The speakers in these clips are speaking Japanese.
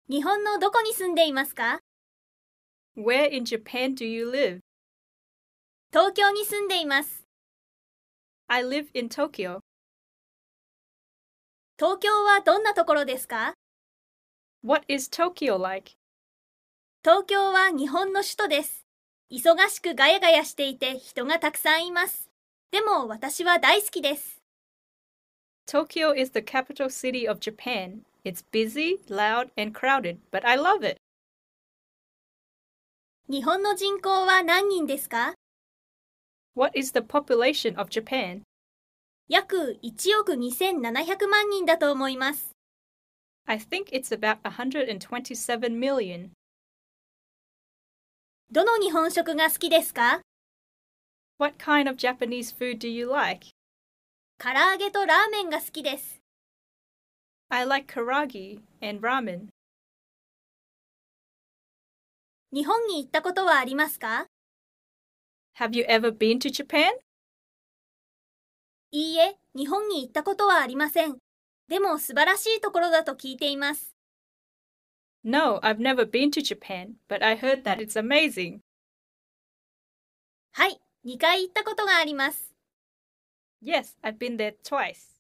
日本のどこに住んでいますか？ Where in Japan do you live? 東京に住んでいます。 I live in Tokyo. 東京はどんなところですか？ What is Tokyo like? 東京は日本の首都です。忙しくガヤガヤしていて人がたくさんいます。でも私は大好きです。 Tokyo is the capital city of Japan. It's busy, loud, and crowded, but I love it. 日本の人口は何人ですか？ What is the population of Japan? 約1億2700万人だと思います。 I think it's about 127 million. どの日本食が好きですか？ What kind of Japanese food do you like? 唐揚げとラーメンが好きです。 I like karagi and ramen. 日本に行ったことはありますか？ Have you ever been to Japan? いいえ、日本に行ったことはありません。でも素晴らしいところだと聞いています。 No, I've never been to Japan, but I heard that it's amazing. はい、2回行ったことがあります。 Yes, I've been there twice.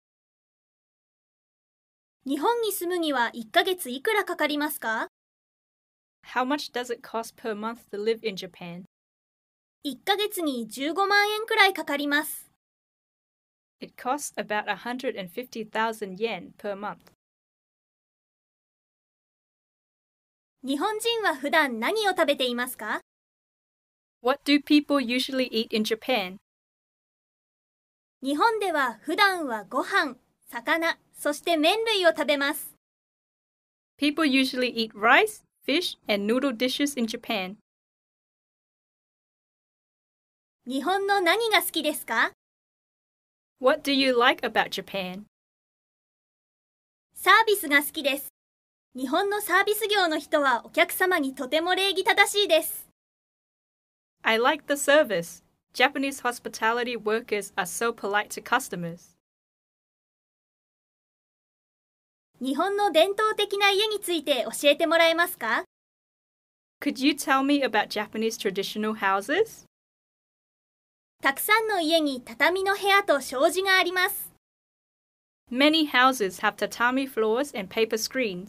日本に住むには1ヶ月いくらかかりますか？ How much does it cost per month to live in Japan? 1ヶ月に15万円くらいかかります。 It costs about 150,000 yen per month. 日本人は普段何を食べていますか？ What do people usually eat in Japan? 日本では普段はご飯、魚、そして麺類を食べます。 People usually eat rice, fish, and noodle dishes in Japan. 日本の何が好きですか？ What do you like about Japan? サービスが好きです。日本のサービス業の人はお客様にとても礼儀正しいです。 I like the service. Japanese hospitality workers are so polite to customers. 日本の伝統的な家について教えてもらえますか？ Could you tell me about Japanese traditional houses? たくさんの家に畳の部屋と障子があります。 Many houses have tatami floors and paper screens.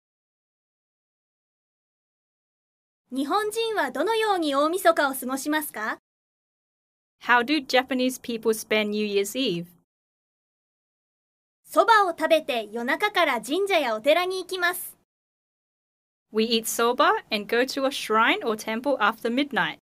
日本人はどのように大晦日を過ごしますか？ How do Japanese people spend New Year's Eve? そばを食べて夜中から神社やお寺に行きます。 We eat soba and go to a shrine or temple after midnight.